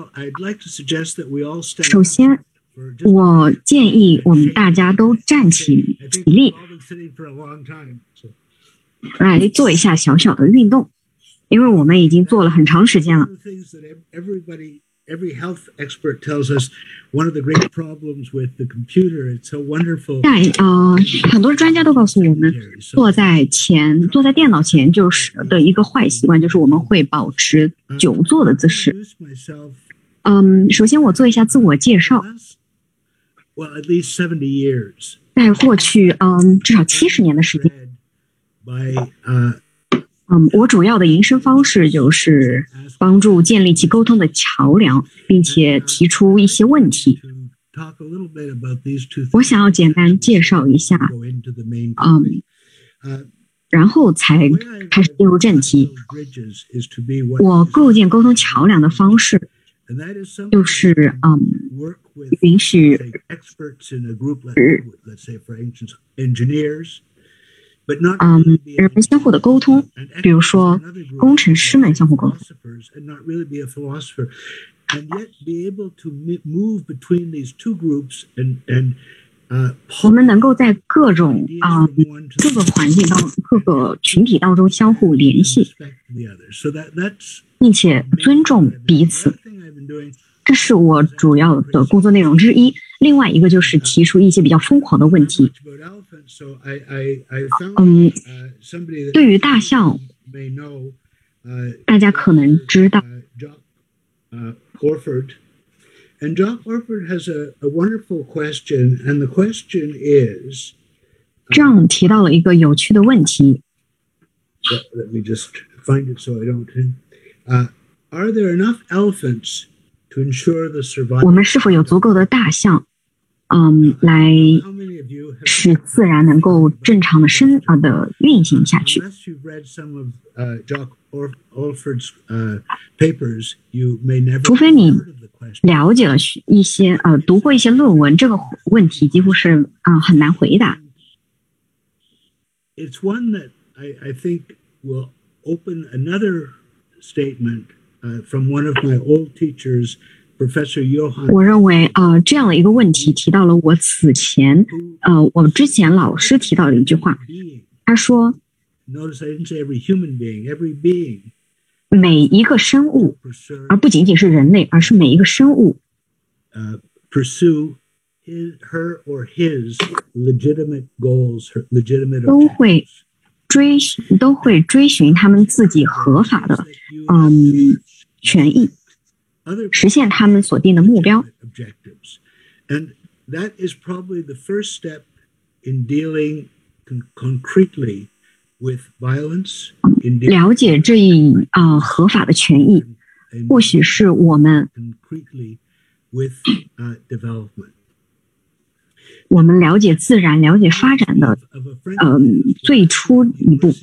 首先，我建议我们大家都站起立，来做一下小小的运动，因为我们已经做了很长时间了。 Every health expert tells us one of the great problems with the computer, it's so wonderful. 很多专家都告诉我们，坐在电脑前就是的一个坏习惯，就是我们会保持久坐的姿势。首先我做一下自我介绍。 Well, at least 70 years. 在过去至少70年的时间。我主要的营生方式就是帮助建立起沟通的桥梁，并且提出一些问题。我想要简单介绍一下，然后才开始进入正题。我构建沟通桥梁的方式，就是允许人们相互的沟通，比如说工程师们相互沟通。我们能够在各个环境各个群体当中相互联系，并且尊重彼此。这是我主要的工作内容之一。另外一个就是提出一些比较疯狂的问题。对于大象，大家可能知道。 And John Orford has a wonderful question, and the question is. 这样提到了一个有趣的问题。 Let me just find it so I don't. Are there enough elephants to ensure the survival? 我们是否有足够的大象，来使自然能够正常的运行下去？ Unless you've read some of John Orford's papers, you may never. 除非你了解了一些读过一些论文，这个问题几乎是很难回答。 It's one that I think will open another statement from one of my old teachers, Professor Johann. 我认为这样的一个问题提到了我我之前老师提到的一句话，他说 Notice I didn't say every human being, every being. 每一个生物，而不仅仅是人类，而是每一个生物 pursue her or his legitimate goals, her legitimate 都会追寻他们自己合法的权益，实现他们所定的目标。 And that is probably the first step in dealing concretely with violence. 了解这一合法的权益，或许是我们了解自然、了解发展的最初一步。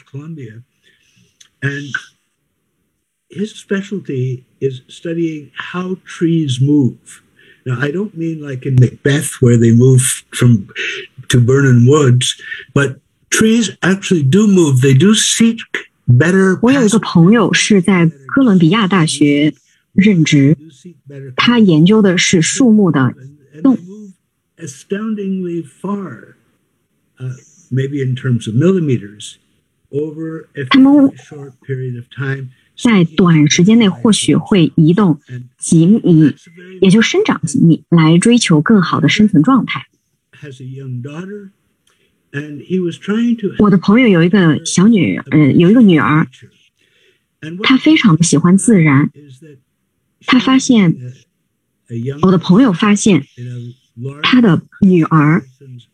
And his specialty is studying how trees move. Now, I don't mean like in Macbeth where they move to burning woods, but trees actually do move. They do seek better. 我有一个朋友是在哥伦比亚大学任职，他研究的是树木的动。 Astoundingly far, maybe in terms of millimeters, over a short period of time. 在短时间内或许会移动几米，也就生长几米，来追求更好的生存状态。我的朋友有一个有一个女儿，她非常的喜欢自然。我的朋友发现，他的女儿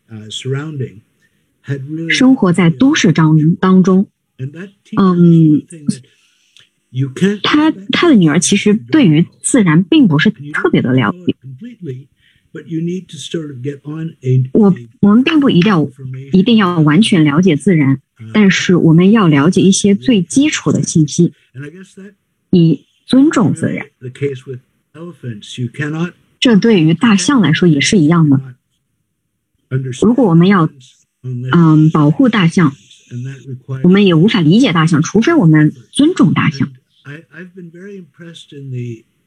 生活在都市当中。他的女儿其实对于自然并不是特别的了解。我们并不一定要完全了解自然，但是我们要了解一些最基础的信息，以尊重自然。这对于大象来说也是一样的。如果我们要保护大象，我们也无法理解大象，除非我们尊重大象。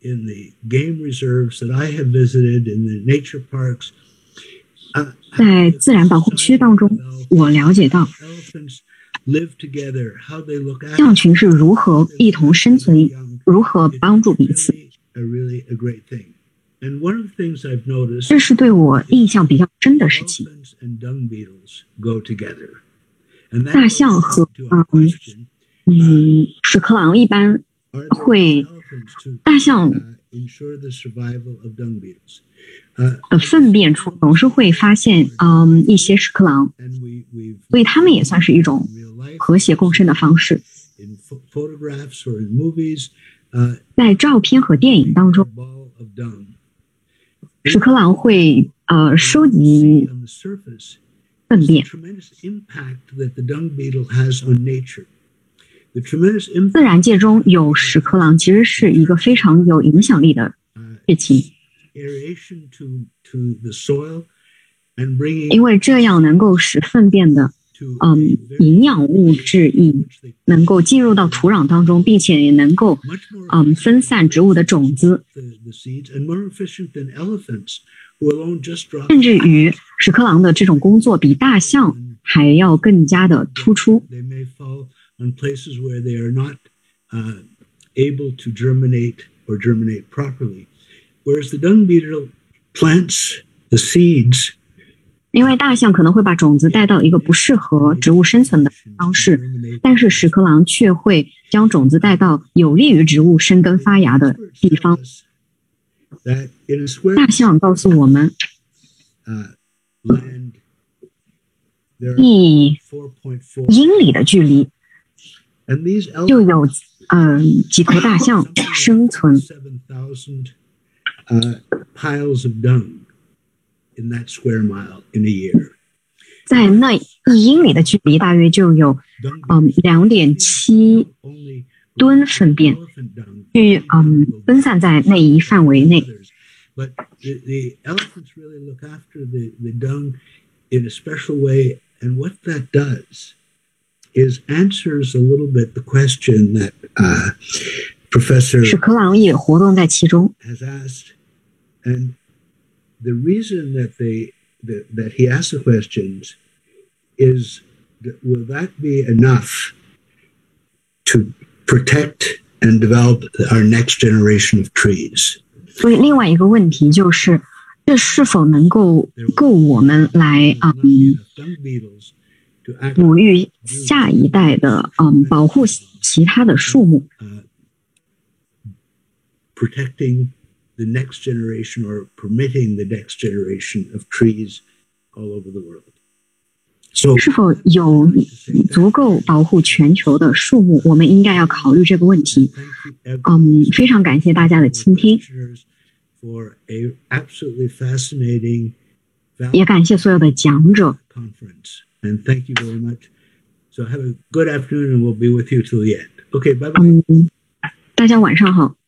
in the game reserves that I have visited, in the nature parks, 在自然保护区当中，我了解到 elephants live together, how they look after 象群是如何一同生存，如何帮助彼此。 really a great thing. And one of the things I've noticed, 这是对我印象比较深的事情。 elephants and dung beetles go together. And that 大象和 to our question, 屎壳郎一般 are there 会 elephants to 大象 ensure the survival of dung beetles? 的粪便处总是会发现一些屎壳郎， And we've 所以它们也算是一种 in real life, 和谐共生的方式。 in photographs or in movies, 在照片和电影当 a 中， ball of dung. 屎壳郎会收集 On the surface, 粪 the 便。 tremendous impact that the dung beetle has on nature. The tremendous 自 impact 然界中有屎壳郎，其实是一个非常有影响力的事情， aeration to the soil and bringing 因为这样能够使粪便的 to a very 营养物质能够进入到土壤当中，并且也能够 much more 分散植物的种子， the seeds and more efficient than elephants who alone just drop 甚至于屎壳郎的这种工作比大象还要更加的突出。 they may fall on places where they are not able to germinate or germinate properly. Whereas the dung beetle plants the seeds 因为大象可能会把种子带到一个不适合植物生存的方式， germinate 但是屎壳郎却会将种子带到有利于植物生根发芽的地方。 that in a square 大象告诉我们， land there are 一 4.4 英里的距离 and these 就有几头大象生存。 7,000 piles of dung in that square mile in a year. 在那1英里的距离，大约就有2.7 Only 吨粪便 elephant dung 去分散在那一范围内。 But the elephants really look after the dung in a special way. And what that does is answers a little bit the question that Professor 屎壳郎也活动在其中。 has asked. And the reason that that he asked the questions is that will that be enough to protect and develop our next generation of trees? 所以另外一个问题就是，这是否能够我们来 Dung beetles to act 哺育下一代的保护其他的树木， protecting the next generation or permitting the next generation of trees all over the world. So 是否有足够保护全球的树木？我们应该要考虑这个问题。 thank you 非常感谢大家的倾听， for a absolutely fascinating 也感谢所有的讲者。 conference. And thank you very much. So have a good afternoon and we'll be with you till the end. Okay, bye bye. 大家晚上好。